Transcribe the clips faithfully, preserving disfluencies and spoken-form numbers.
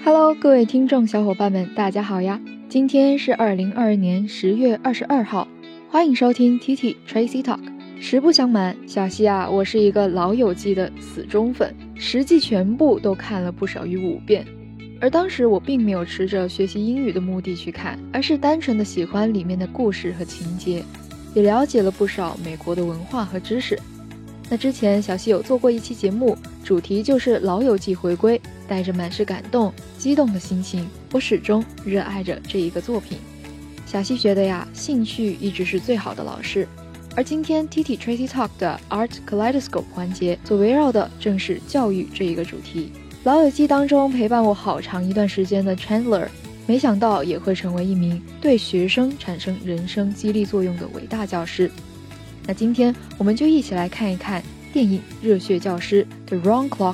Hello， 各位听众小伙伴们，大家好呀！今天是二零二二年十月二十二号，欢迎收听 T T Tracy Talk。实不相瞒，小西啊，我是一个老友记的死忠粉，实际全部都看了不少于五遍。而当时我并没有持着学习英语的目的去看，而是单纯的喜欢里面的故事和情节，也了解了不少美国的文化和知识。那之前小西有做过一期节目，主题就是老友记回归，带着满是感动激动的心情，我始终热爱着这一个作品。小西觉得呀，兴趣一直是最好的老师，而今天 T T Tracy Talk 的 Art Kaleidoscope 环节所围绕的正是教育这一个主题。老友记当中陪伴我好长一段时间的 Chandler， 没想到也会成为一名对学生产生人生激励作用的伟大教师。那今天我们就一起来看一看电影《热血教师》The Wrong Clock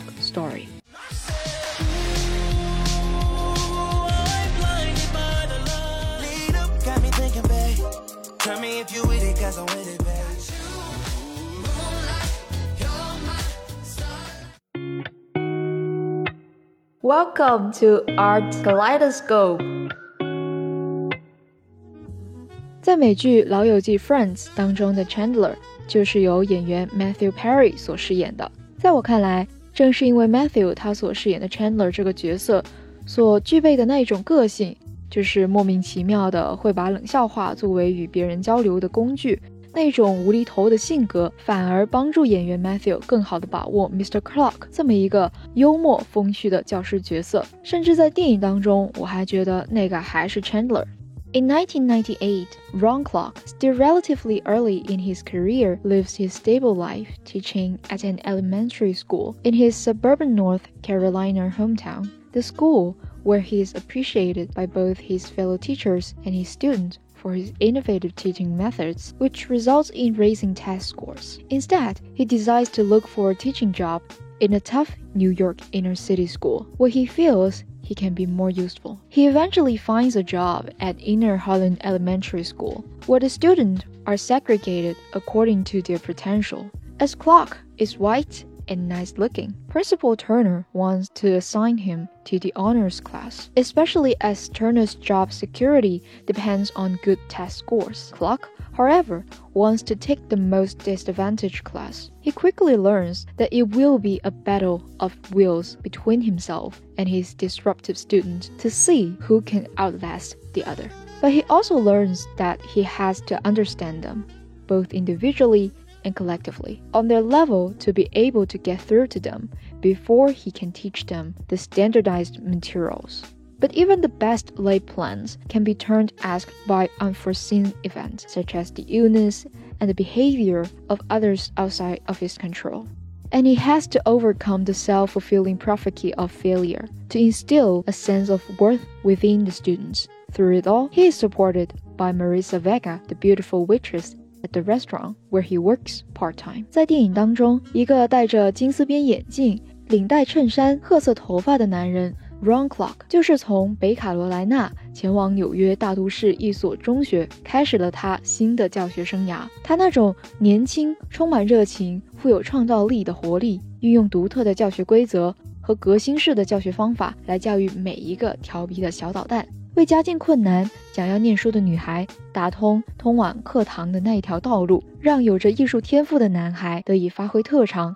Story。Welcome to Art Kaleidoscope。 在美剧《老友记 Friends》当中的 Chandler 就是由演员 Matthew Perry 所饰演的。在我看来，正是因为 Matthew 他所饰演的 Chandler 这个角色所具备的那一种个性，就是莫名其妙的会把冷笑话作为与别人交流的工具，那种无厘头的性格反而帮助演员 Matthew 更好地把握 Mister Clark 这么一个幽默风趣的教师角色。甚至在电影当中，我还觉得那个还是 Chandler。In nineteen ninety-eight, Ron Clark, still relatively early in his career, lives his stable life teaching at an elementary school in his suburban North Carolina hometown. The school, where he is appreciated by both his fellow teachers and his students for his innovative teaching methods, which results in raising test scores. Instead, he decides to look for a teaching job in a tough New York inner-city school, where he feels he can be more useful. He eventually finds a job at Inner Harlan Elementary School, where the students are segregated according to their potential. As Clark is white and nice-looking, Principal Turner wants to assign him to the honors class, especially as Turner's job security depends on good test scores. Clark, however, wants to take the most disadvantaged class. He quickly learns that it will be a battle of wills between himself and his disruptive student to see who can outlast the other. But he also learns that he has to understand them, both individually and collectively, on their level to be able to get through to them before he can teach them the standardized materials. But even the best laid plans can be turned askew by unforeseen events, such as the illness and the behavior of others outside of his control. And he has to overcome the self-fulfilling prophecy of failure to instill a sense of worth within the students. Through it all, he is supported by Marisa Vega, the beautiful waitress at the restaurant where he works part-time. 在电影当中，一个戴着金丝边眼镜、领带衬衫、褐色头发的男人 Ron Clark 就是从北卡罗来纳前往纽约大都市一所中学，开始了他新的教学生涯。他那种年轻、充满热情、富有创造力的活力，运用独特的教学规则和革新式的教学方法来教育每一个调皮的小捣蛋，为家境困难、想要念书的女孩打通通往课堂的那一条道路，让有着艺术天赋的男孩得以发挥特长。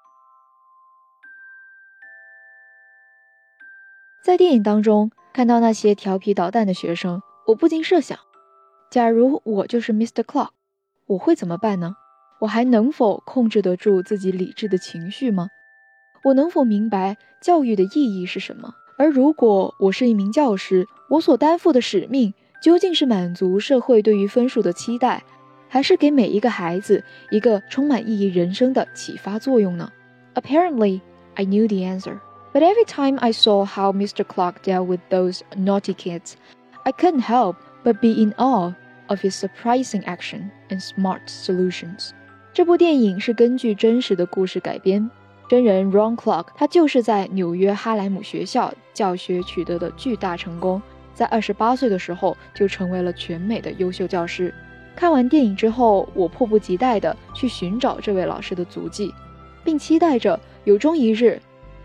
在电影当中看到那些调皮捣蛋的学生，我不禁设想，假如我就是 Mister Clark， 我会怎么办呢？我还能否控制得住自己理智的情绪吗？我能否明白教育的意义是什么？而如果我是一名教师，我所担负的使命究竟是满足社会对于分数的期待，还是给每一个孩子一个充满意义人生的启发作用呢？ Apparently, I knew the answer. But every time I saw how Mister Clark dealt with those naughty kids, I couldn't help but be in awe of his surprising action and smart solutions. 这部电影是根据真实的故事改编，真人 Ron Clark 他就是在纽约哈莱姆学校教学取得的巨大成功，在二十八岁的时候就成为了全美的优秀教师。看完电影之后，我迫不及待地去寻找这位老师的足迹，并期待着有终一日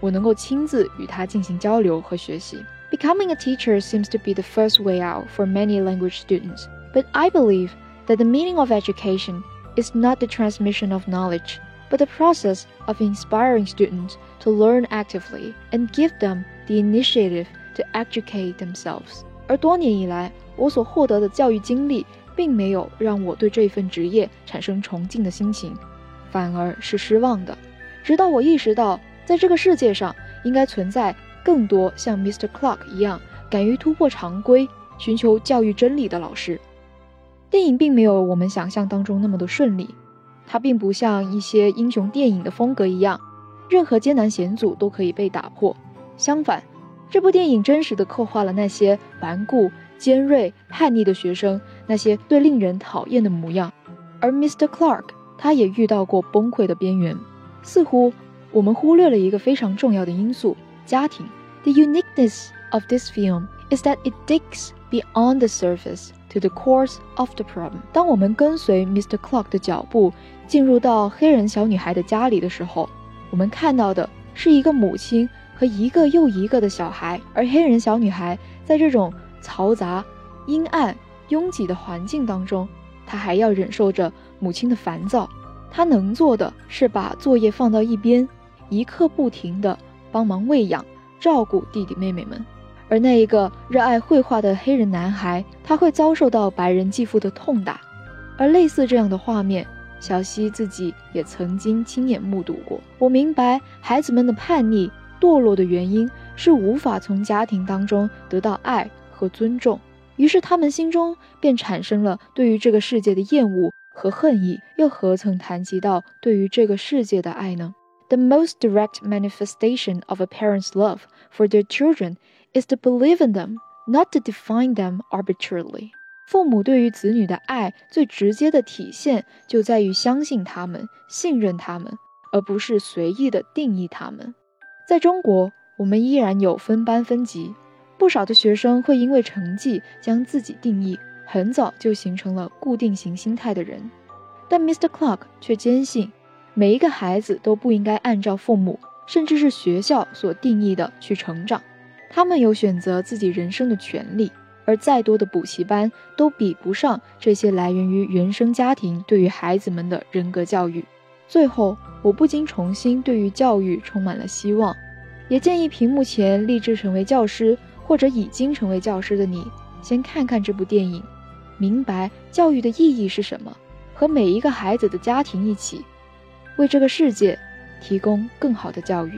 我能够亲自与他进行交流和学习。Becoming a teacher seems to be the first way out for many language students, but I believe that the meaning of education is not the transmission of knowledge, but the process of inspiring students to learn actively and give them the initiative to educate themselves. 而多年以来，我所获得的教育经历并没有让我对这份职业产生崇敬的心情，反而是失望的。直到我意识到，在这个世界上应该存在更多像 Mister Clark 一样敢于突破常规，寻求教育真理的老师。电影并没有我们想象当中那么的顺利，它并不像一些英雄电影的风格一样，任何艰难险阻都可以被打破。相反，这部电影真实地刻画了那些顽固、尖锐、叛逆的学生，那些最令人讨厌的模样。而 Mister Clark 他也遇到过崩溃的边缘。似乎我们忽略了一个非常重要的因素，家庭。The uniqueness of this film is that it digs beyond the surface to the cause of the problem. 当我们跟随 Mister Clark 的脚步进入到黑人小女孩的家里的时候，我们看到的是一个母亲和一个又一个的小孩，而黑人小女孩在这种嘈杂、阴暗、拥挤的环境当中，她还要忍受着母亲的烦躁。她能做的是把作业放到一边，一刻不停地帮忙喂养、照顾弟弟妹妹们。而那一个热爱绘画的黑人男孩，他会遭受到白人继父的痛打。而类似这样的画面，小希自己也曾经亲眼目睹过。我明白孩子们的叛逆、堕落的原因是无法从家庭当中得到爱和尊重，于是他们心中便产生了对于这个世界的厌恶和恨意，又何曾谈及到对于这个世界的爱呢？ The most direct manifestation of a parent's love for their children is to believe in them, not to define them arbitrarily. 父母对于子女的爱最直接的体现就在于相信他们、信任他们，而不是随意的定义他们。在中国，我们依然有分班分级，不少的学生会因为成绩将自己定义，很早就形成了固定型心态的人。但 Mister Clark 却坚信，每一个孩子都不应该按照父母甚至是学校所定义的去成长，他们有选择自己人生的权利，而再多的补习班都比不上这些来源于原生家庭对于孩子们的人格教育。最后，我不禁重新对于教育充满了希望，也建议屏幕前立志成为教师或者已经成为教师的你，先看看这部电影，明白教育的意义是什么，和每一个孩子的家庭一起，为这个世界提供更好的教育。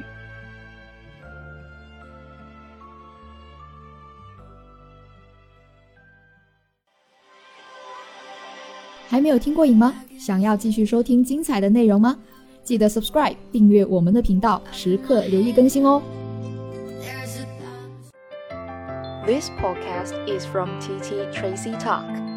还没有听过瘾吗？想要继续收听精彩的内容吗？记得 subscribe 订阅我们的频道，时刻留意更新哦。 This podcast is from T T Tracy Talk.